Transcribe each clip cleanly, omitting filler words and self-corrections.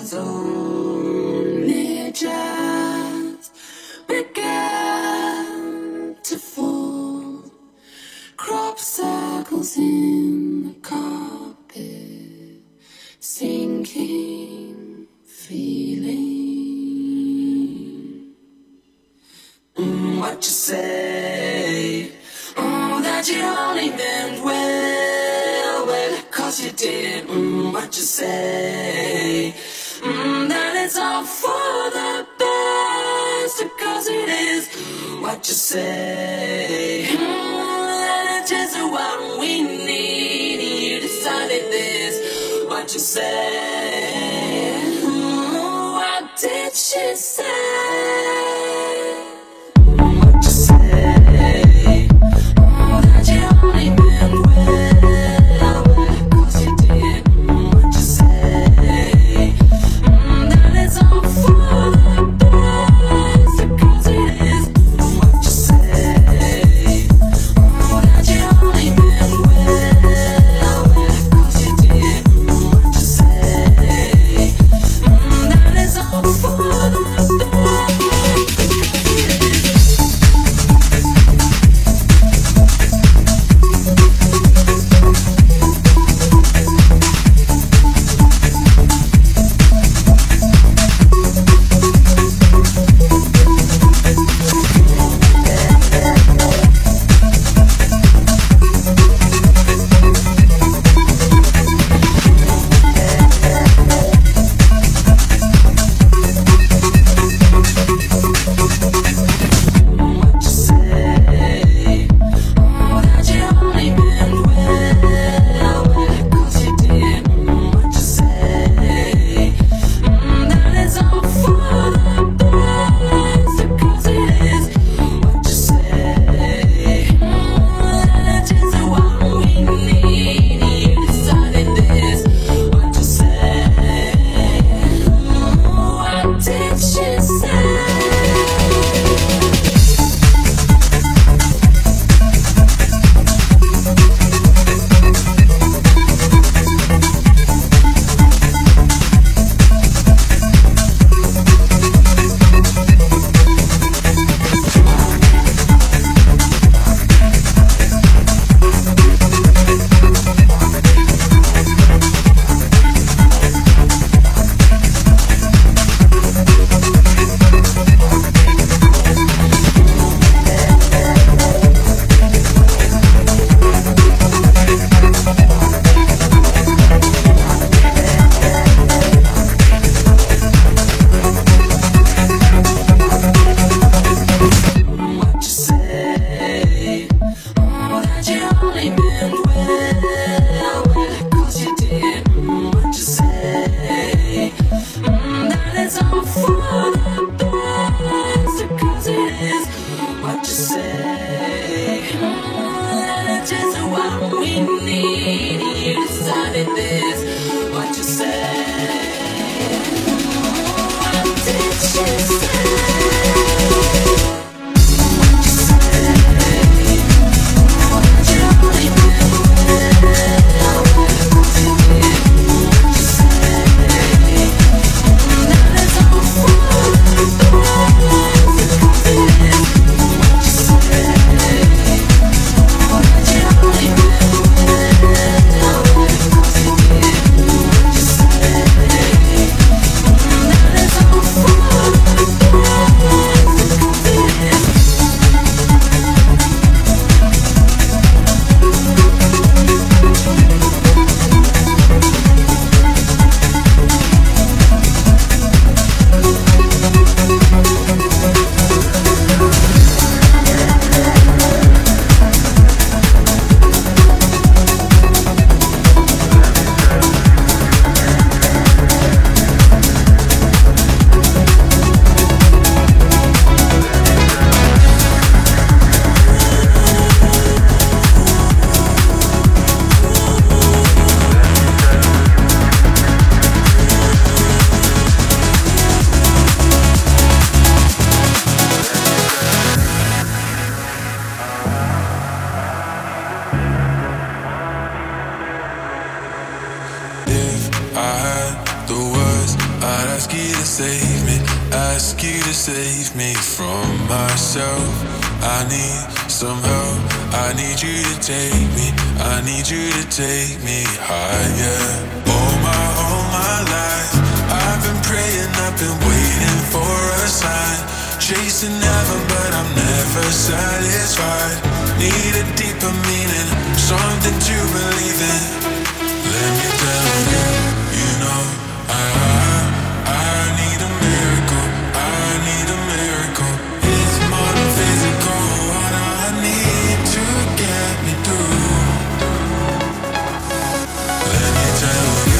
has only just begun to fall. Crop circles in the carpet, sinking feeling. What you say? Oh, that you only meant well, 'cause you did. What you say? That it's all for the best, 'cause it is. What you say? That it's just what we need. You decided this. What you say? What did she say? was, I'd ask you to save me, ask you to save me from myself. I need some help, I need you to take me, I need you to take me higher. All my life, I've been praying, I've been waiting for a sign. Chasing heaven, but I'm never satisfied. Need a deeper meaning, something to believe in. Let me tell you, you know, I need a miracle, I need a miracle. It's more than physical, what I need to get me through. Let me tell you.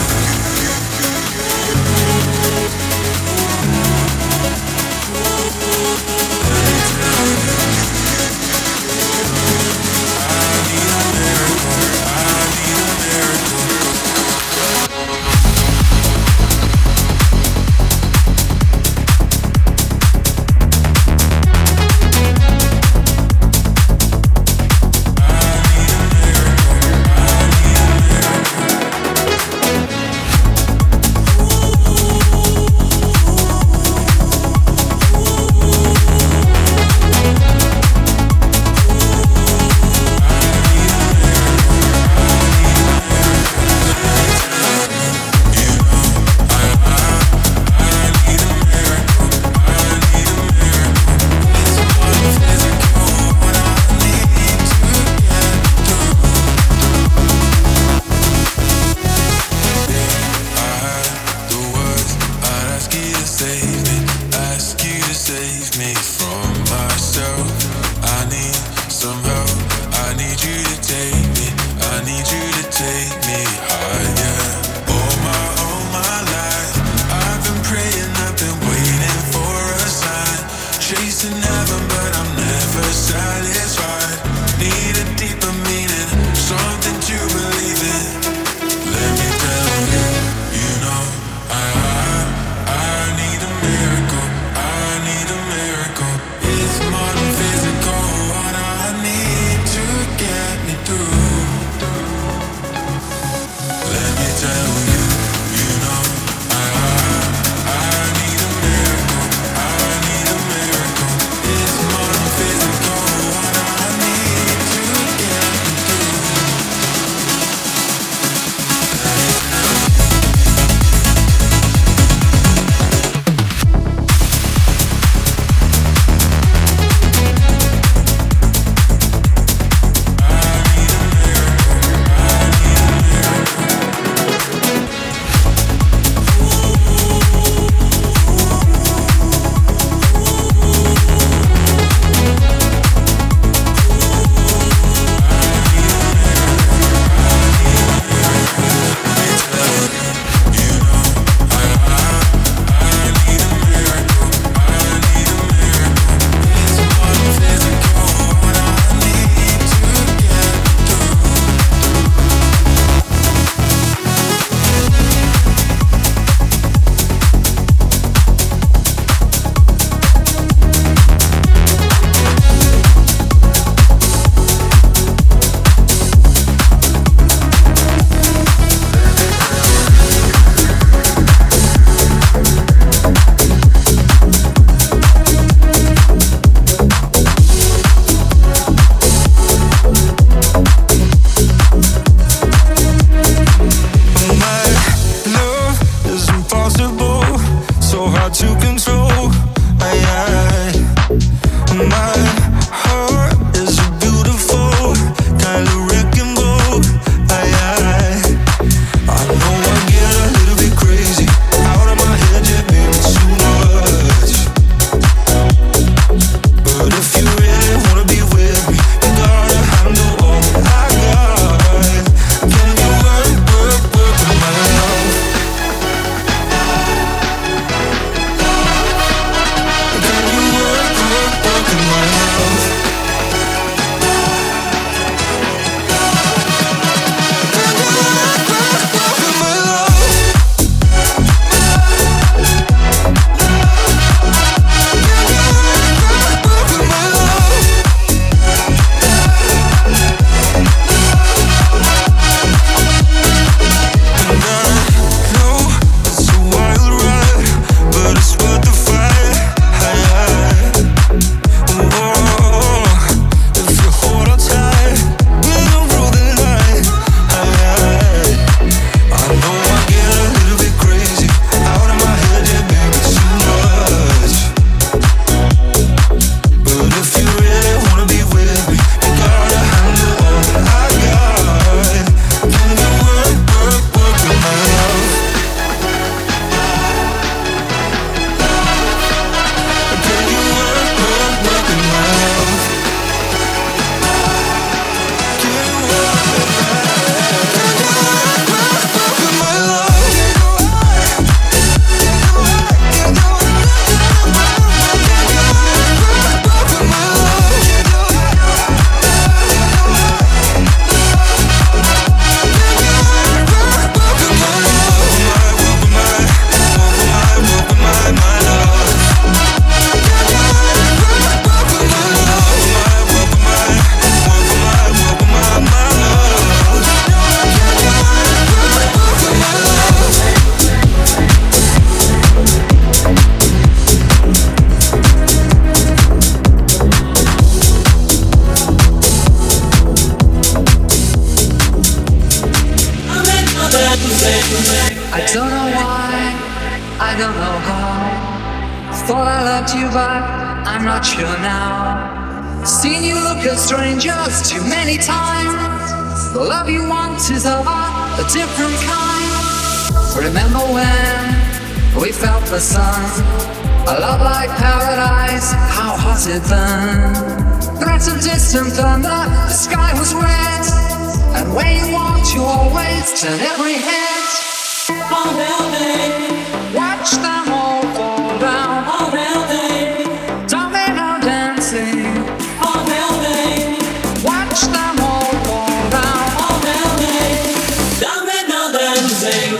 know how. Thought I loved you, but I'm not sure now. Seen you look at strangers too many times. The love you want is of a different kind. Remember when we felt the sun? A love like paradise, how hot it burned. Threats of distant thunder, the sky was red. And when you want, you always turn every head. All building, watch them all fall down. all building, Domino dancing. all building, Watch them all fall down. all building, domino dancing.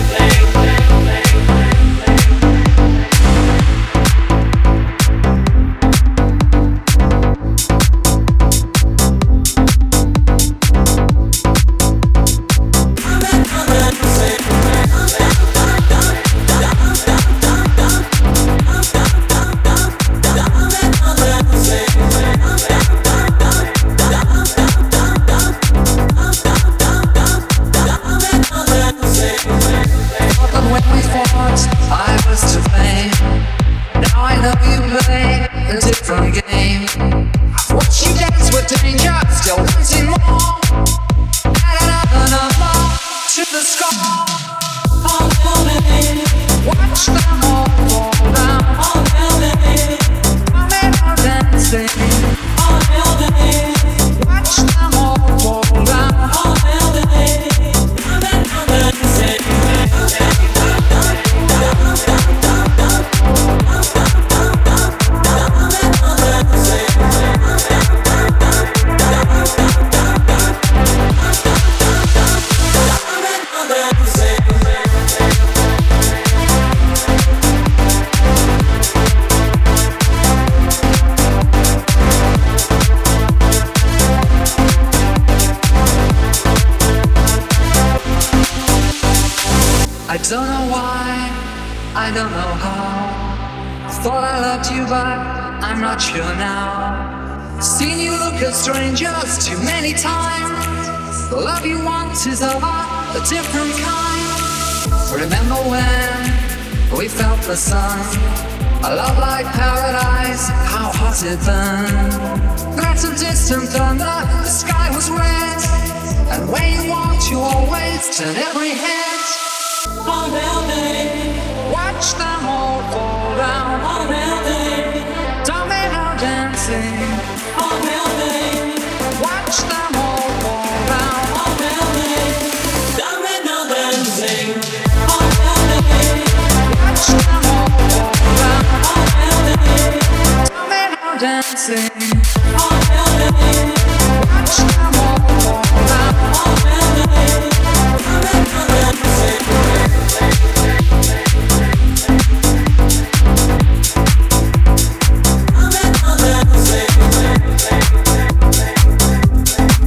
I don't know why, I don't know how. Thought I loved you, but I'm not sure now. Seen you look at strangers too many times. The love you want is of a different kind. Remember when we felt the sun? A love like paradise, how hot it burned. Threats of distant thunder, the sky was red. And when you want, you always turn every head. All building, Watch them all fall down. all building, Domino dancing. all building, Watch them all fall down. all building, domino dancing. All building, Watch them all fall down. all building, Domino dancing. all building, Watch them all fall down. all building, domino dancing. Domino dancing.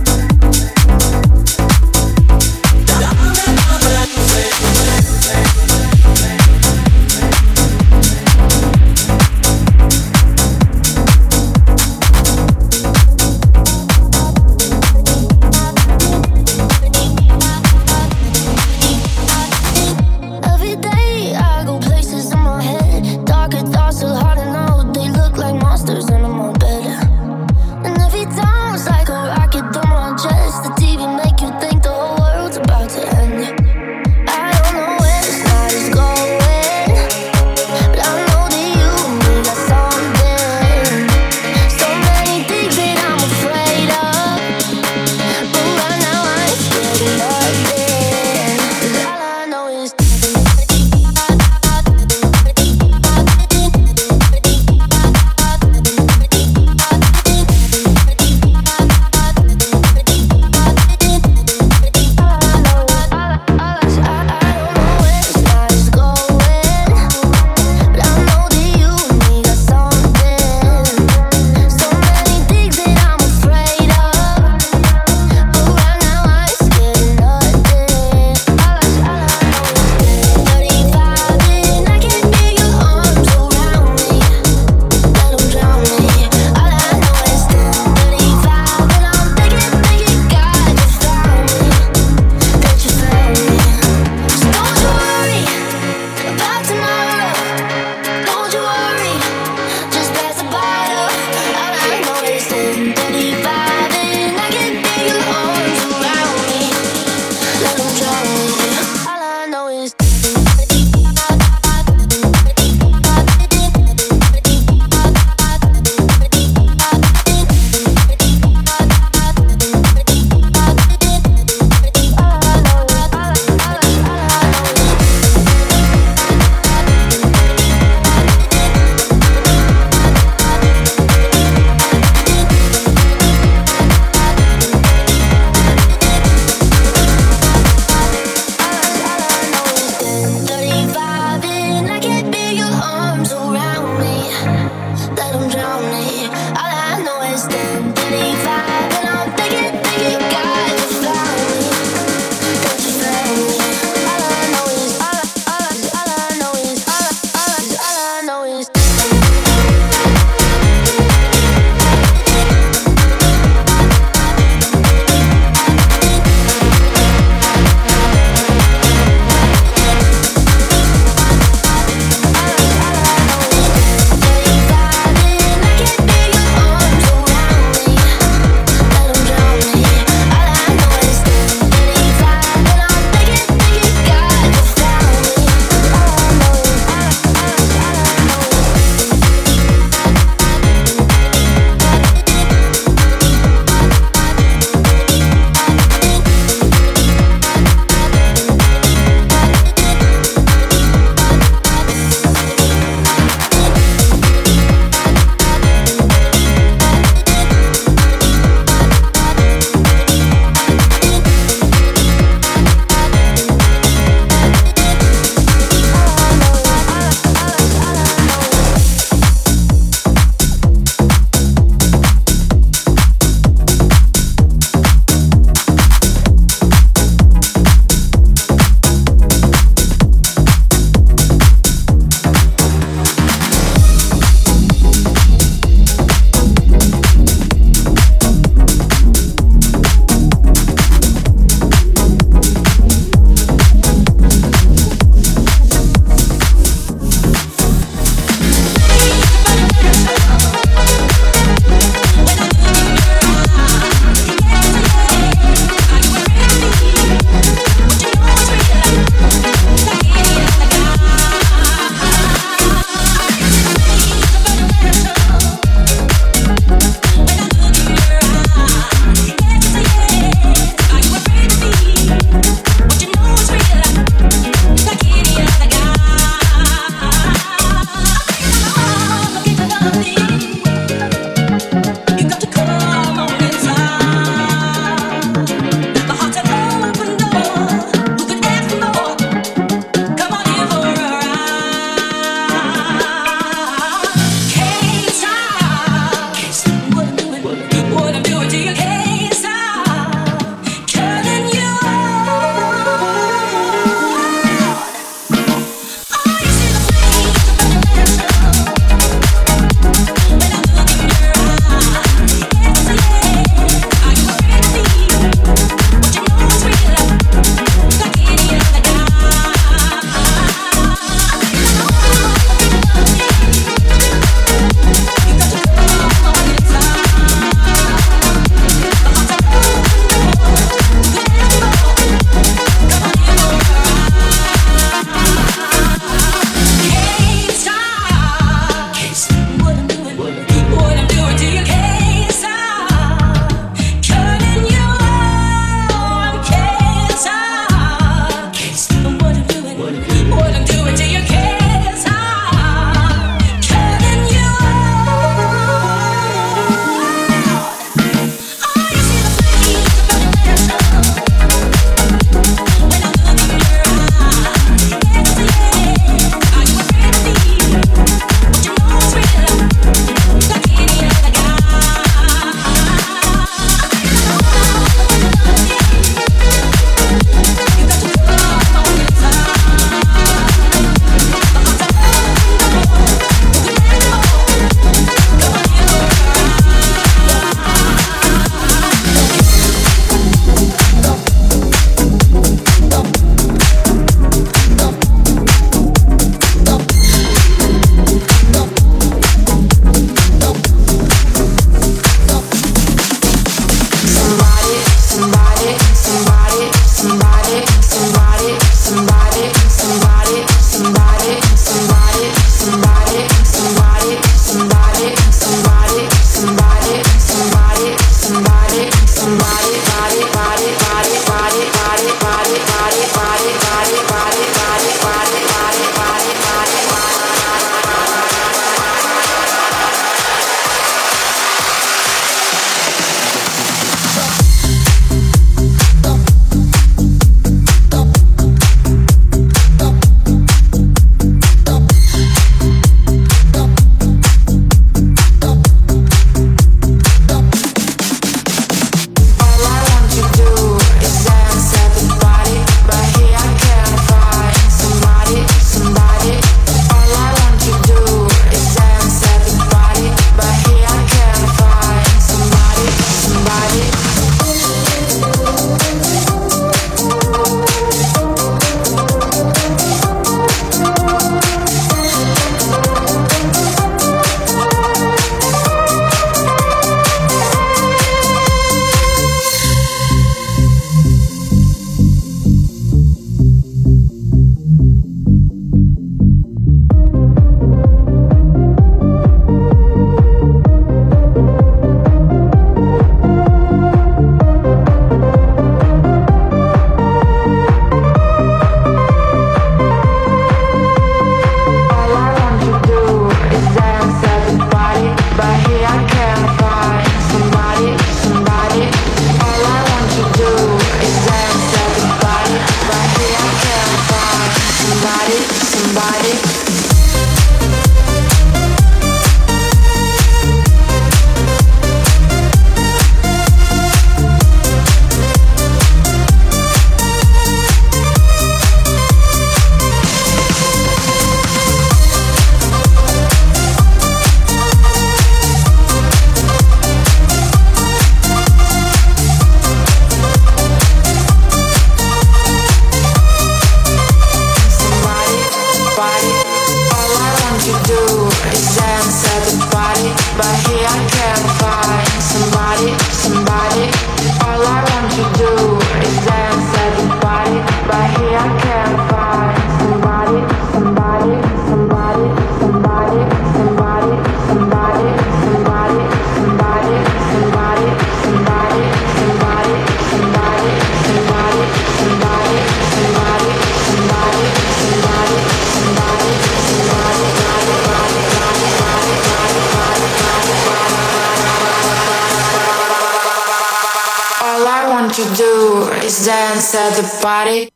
want to do is dance at the party.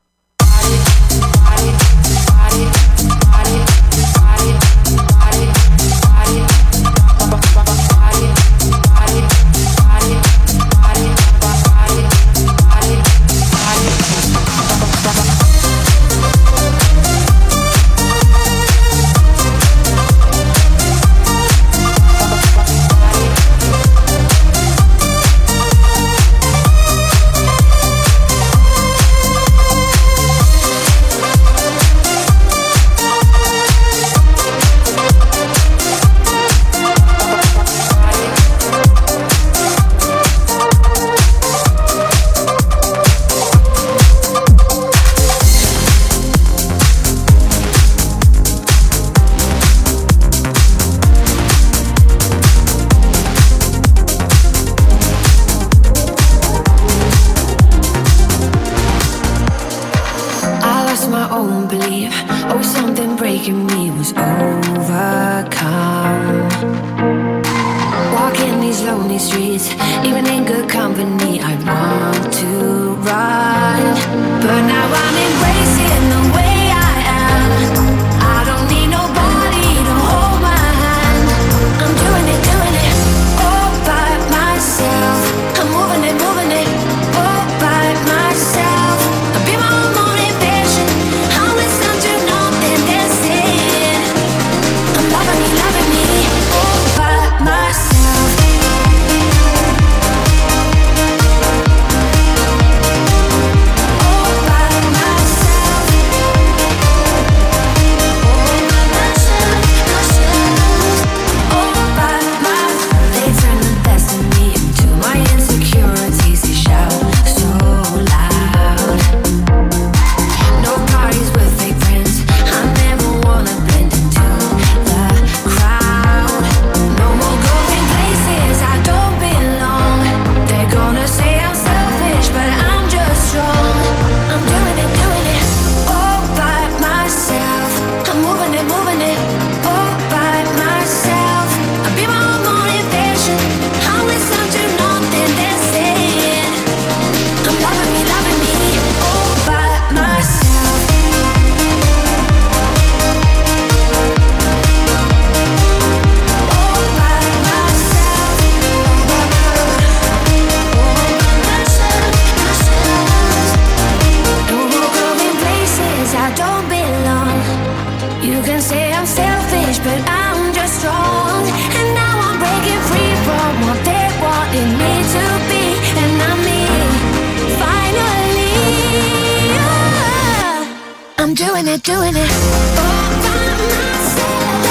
Doing it all by myself.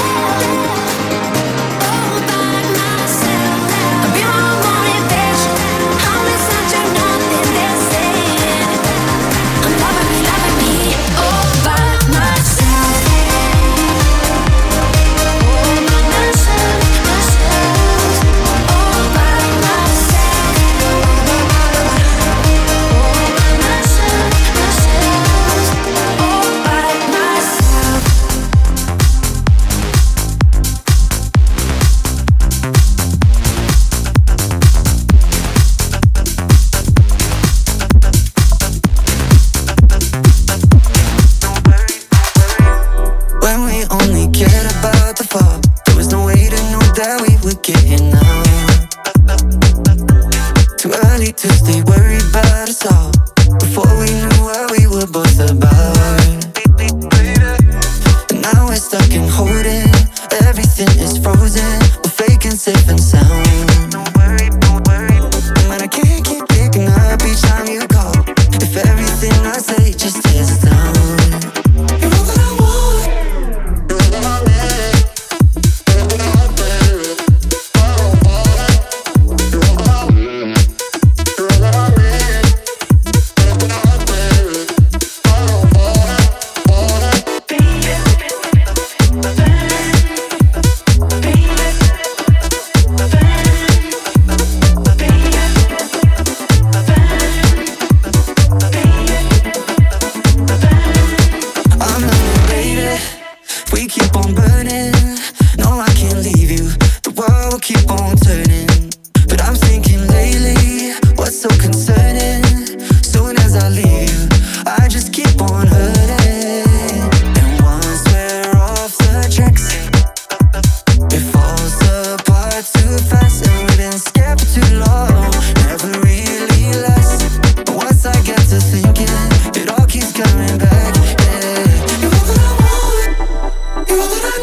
All by myself. I'll be my motivation. I'll listen to nothing they're saying. I'm loving me all by myself. All by myself, myself. All by myself. All by myself, myself. All by myself.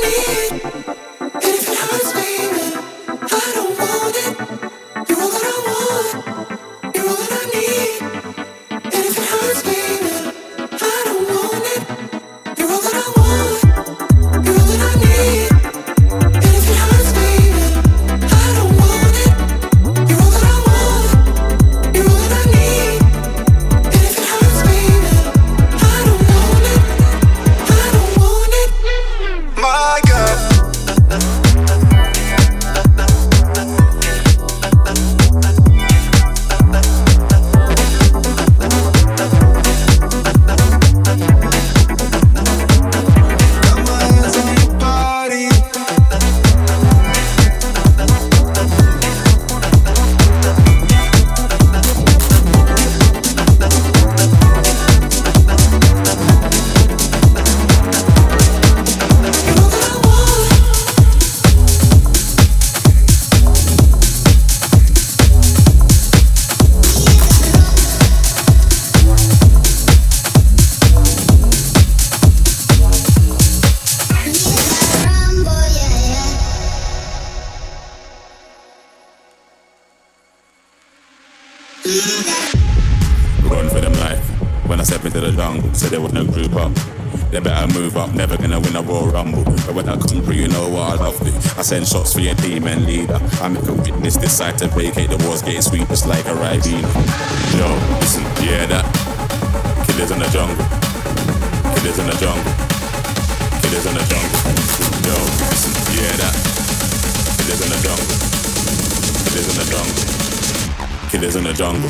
Run for them life. When I step into the jungle, said there was no group up. They better move up, never gonna win a Royal Rumble. But when I come through, you know what I love to. I send shots for your team and leader. I make a witness decide to vacate the walls, getting sweet just like a Ribena. Yo, listen, you hear that? Killers in the jungle. Killers in the jungle. Killers in the jungle. Yo, listen, you hear that? Killers in the jungle. Killers in the jungle. Killers in the jungle.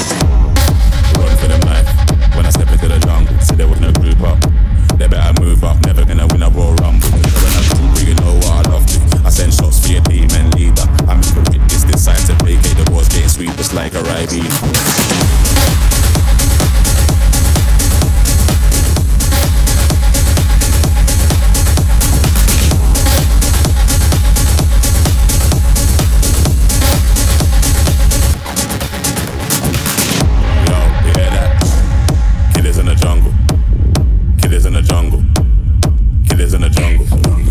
Run for them life. When I step into the jungle, see there was no group up. They better move up, never gonna win a Royal Rumble. But when I come through, you know what I love to. I send shots for your team and leader. I make a witness decide to vacate the walls, getting sweet just like a Ribena. Killers in the jungle. Killers in the jungle.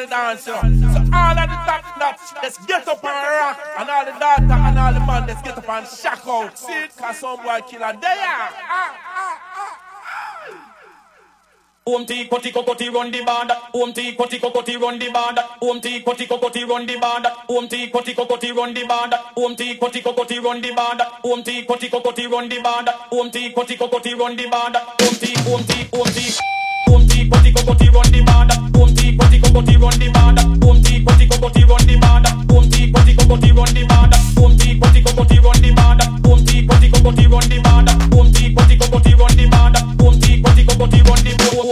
the dance, you know. So all of the top nuts, let's get up and rock. And all the daughter and all the man, let's get up and shock out. See it? Cause some boy killer there. Omti koti kokoti run the band. Omti koti kokoti run the band. Omti koti kokoti run the band. Omti koti kokoti run the band. Omti koti kokoti run the band. Omti koti kokoti run the band. Omti koti kokoti run the band. Omti koti kokoti run the band. Omti koti kokoti run the band. Omti koti kokoti run the band. Omti koti kokoti run the band. Omti koti kokoti run the band. Omti koti kokoti run the band. Omti koti kokoti run the band. Omti koti kokoti run the band.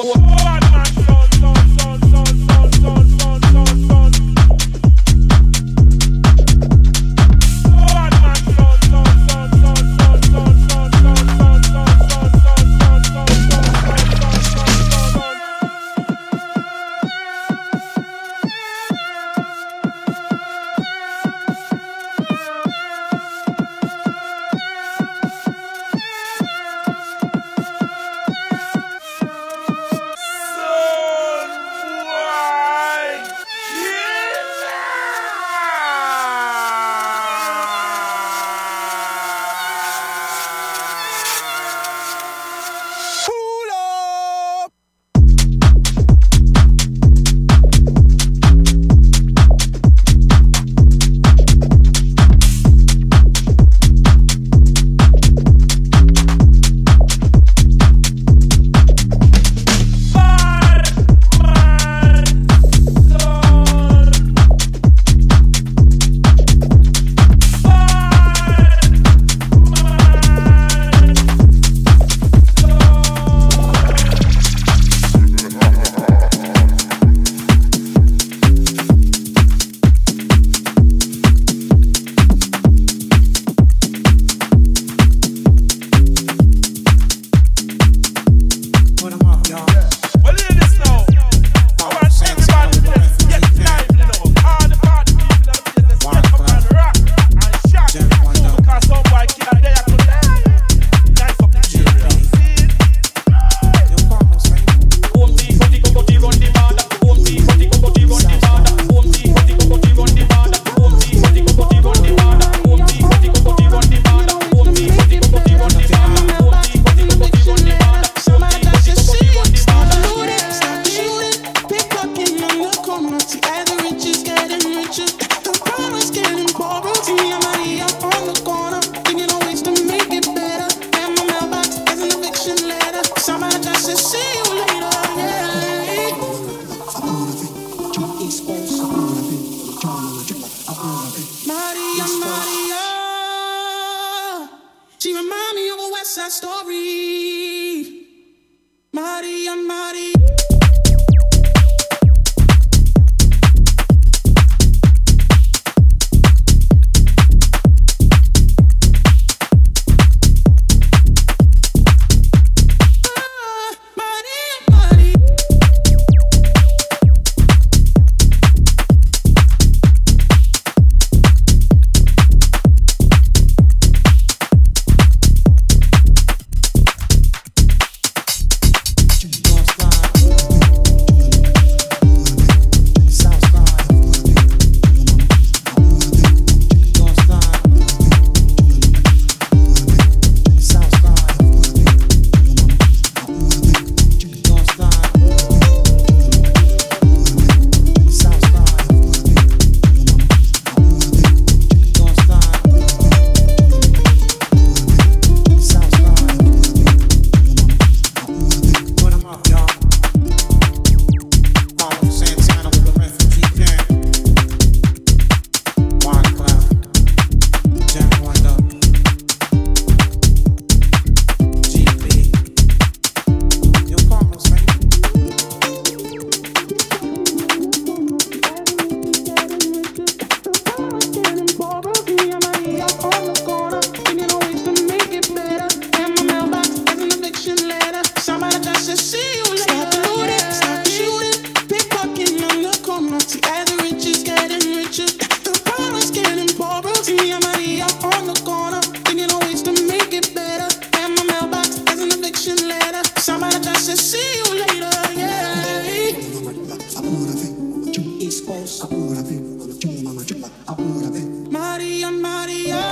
Maria, Maria,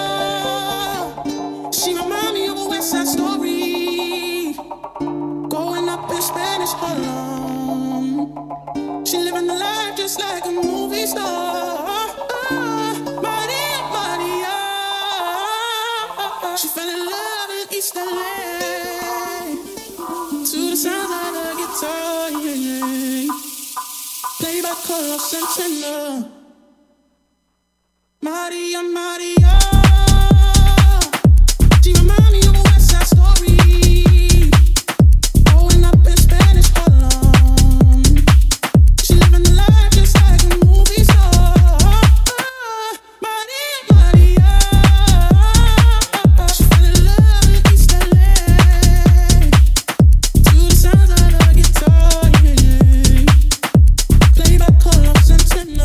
she remind me of a West Side Story. Growing up in Spanish Harlem, she living the life just like a movie star. Maria, Maria, she fell in love in East LA to the sound of the guitar, yeah. Played by Carlos Santana. Maria, Maria, she remind me of a West Side Story. Growing up in Spanish Harlem, she living the life just like a movie star. Maria, Maria, she fell in love in East LA to the sounds of the guitar, yeah. Played by Carlos Santana.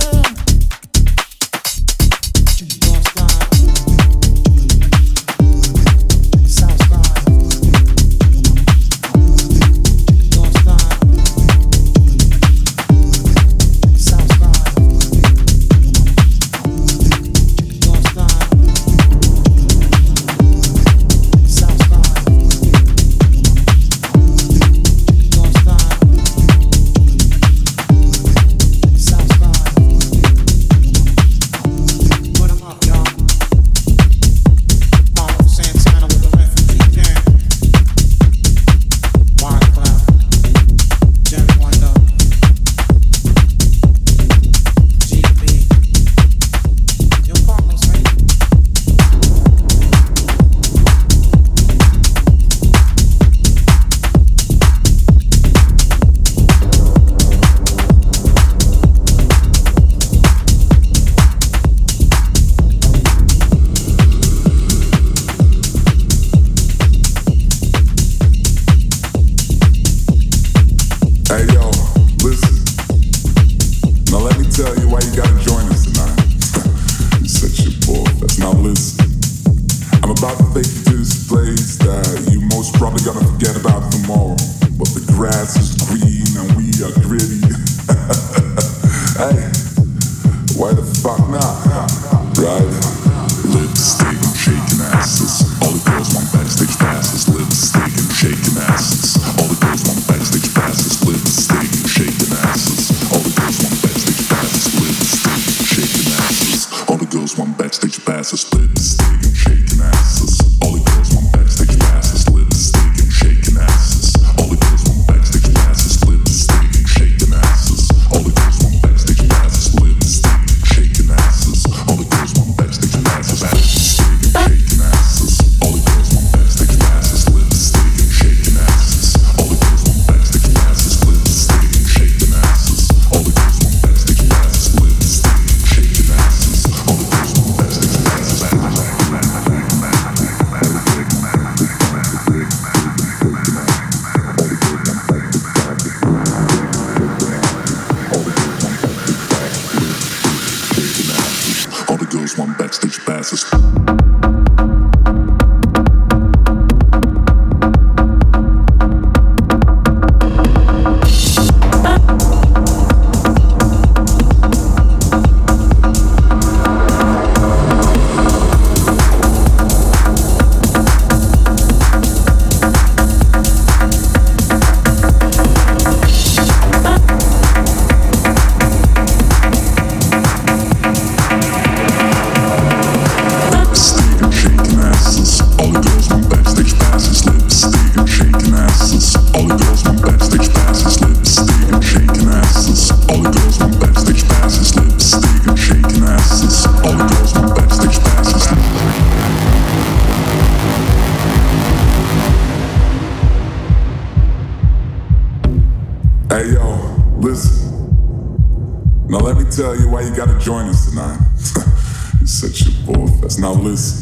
Tell you why you gotta join us tonight. You're such a bullfest. Now listen,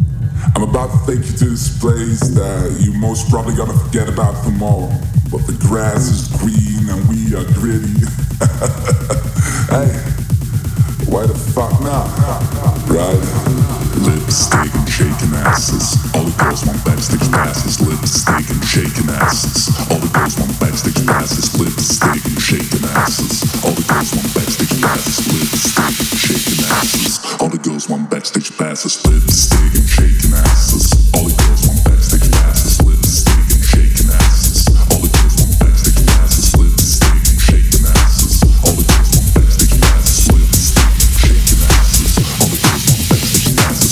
I'm about to take you to this place that you most probably gonna forget about tomorrow. But the grass is green and we are gritty. Hey, why the fuck not? Right? lipstick and shaking asses. All the girls want backstage passes, lipstick and shaking asses. All the girls want backstage passes, lipstick and shaking asses. All the girls want backstage passes, lipstick and shaking asses. All the girls want backstage passes, lipstick and shaking asses. All the girls want backstage passes, lipstick and shaking asses. All the girls want backstage passes, lipstick and shaking asses. All the girls want backstage passes, lipstick and shaking asses. All the girls want backstage passes.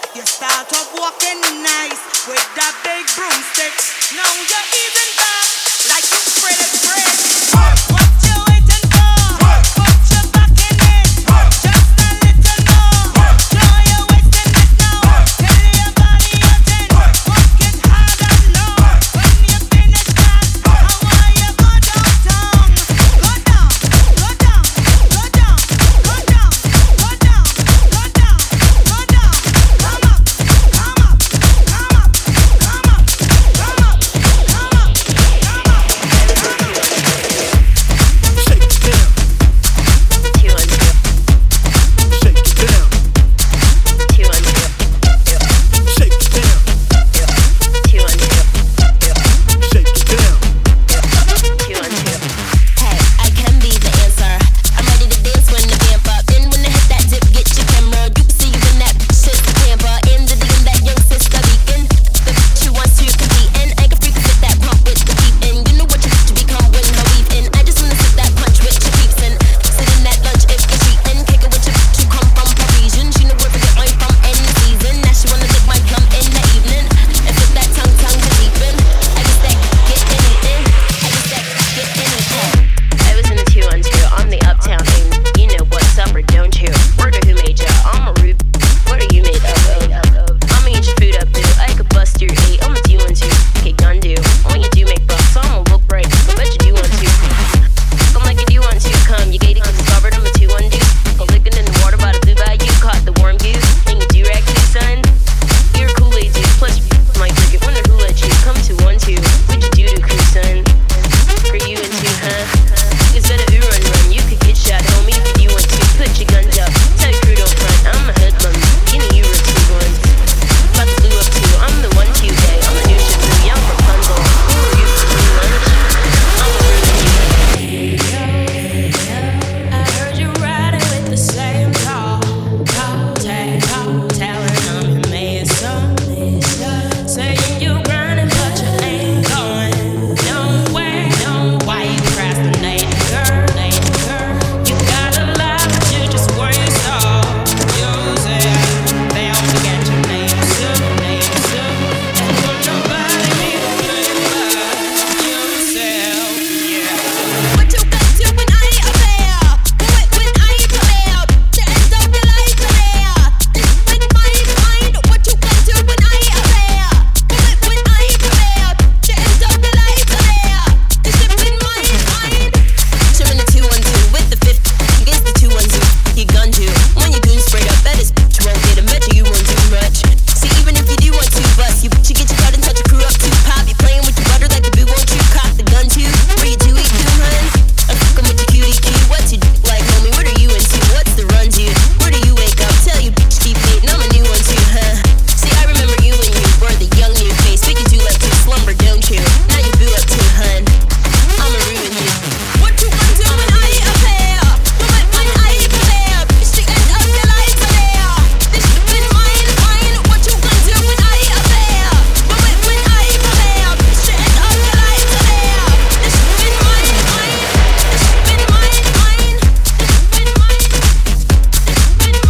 You start off walking nice with that big broomstick. Now you're easing back like you spread it bread. What you waiting for? Put your back in it. Just a little more. Show you wasting it now. Tell your body you're ten. Work it hard and low. When you finish that, how are you go downtown? Go down, go down, go down, go down, go down, go down, go down. Come up, come up, come up, come up, come up, come up, come up. Shake it down. Shake it down. Shake it down. Shake it down. Hey, I can be the answer. I'm ready to dance when the vamp up. Then when I hit that dip, get your camera. You can see when that shit camper. In the DM, that young sister beacon. The bitch who wants to compete in. I can freak fit that pump with the peep in. You know what you to become when her weave in. I just wanna sit that punch with your peeps in. Sit in that lunch if you're cheating. Kick it with your bitch who come from Parisian. She know where to get mine from any season. Now she wanna lick my plum in the evening. And fit that tongue to deepen. I just that get anything. I just that get anything. I was in the 212 on the uptown thing. You know what's up or don't you? Word of who made ya? I'm a Rube. What are you made of? I'ma eat your food up, boo. I could bust your 8. I'm a 212. Okay, gun do. When you do make bucks, I'ma look right. I bet you do want to. Come like you do want to. Come, you gated 'cause it's covered. I'm a 2-1 dude. Go licking in the water by the blue bayou. Caught the warm goose. And you do rag too, son. You're a Kool-Aid dude. Plus you might cricket. Wonder who let you come to 1-2. What'd you do to crew, son? For you and two, huh? Instead of run, you could get shot, homie, if you want to. Put your guns up, tell your crew don't front. I'm a hoodlum, you know you were 2-1. About to blue up too, I'm the 1-2 day. I'm the new shit blue, young Rapunzel. Who are you for free lunch? I'm a rude I heard you riding with the same tall telling I'm your mason. Saying you grinding, but you ain't going nowhere. Why you procrastinating, girl? You got a lot, but you just waste all yourself. They only got your name soon. And won't nobody be the blame but yourself, yeah. What you got to when I ain't there? When I ain't there? The end of the life there. This been mine. What you got to when I ain't there? When I ain't there? The end of the life there. This shit been mine. Trimming the 2-1-2 with the 50 against the 2-1-2. You gunned you when you goon sprayed up. That is bitch won't get a bet you won't do much. See, even if you do want to bust, you get your cut and touch your crew up too. Pop, you playing with your butter like the boo won't you cock the gun too? Where you do eat too, hun? I'm fucking with your cutie cute. What's your like, homie? What are you into? What's the run, dude? Where do you wake up? Tell you bitch keep hating. I'm a new one too, huh? See, I remember you when you were the young new face. Think you do like to slumber, don't you? Now you boo up too, hun. I'ma ruin you. What you gonna do when I ain't up there? When I ain't there? It's the end of your life there. This shit been mine. What you gonna do when I ain't up there? When I ain't there? It's the end of your life there. This shit been mine. This shit been mine. This shit been mine. This shit been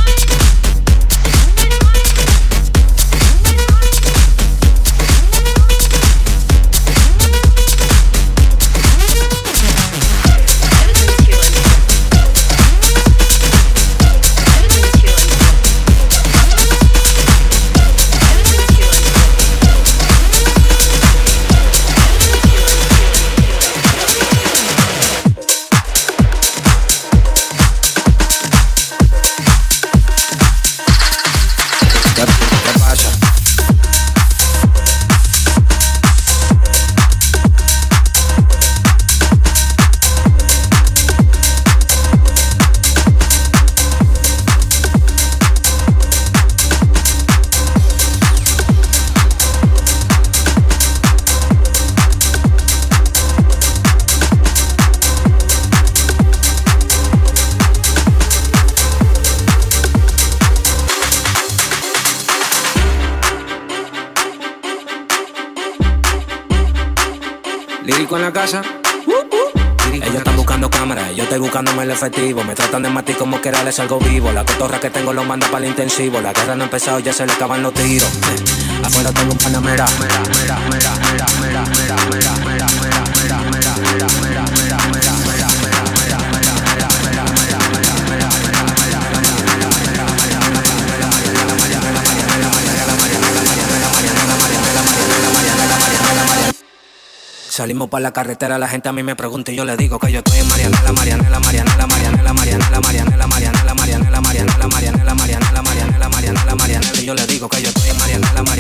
Lírico en la casa. Ellos están buscando cámaras, yo estoy buscándome el efectivo. Me tratan de matar como que era les algo vivo. La cotorra que tengo lo manda para el intensivo. La guerra no ha empezado, ya se le acaban los tiros. Afuera tengo un panamera. Salimos para la carretera, la gente a mí me pregunta y yo le digo que yo estoy en Marianela, Marianela, Marianela, Marianela, Marianela, Marianela, Marianela, Marianela, Marianela, Marianela, Marianela, Marianela, Marianela, Marianela, y yo le digo que yo estoy en Marianela, Marianela.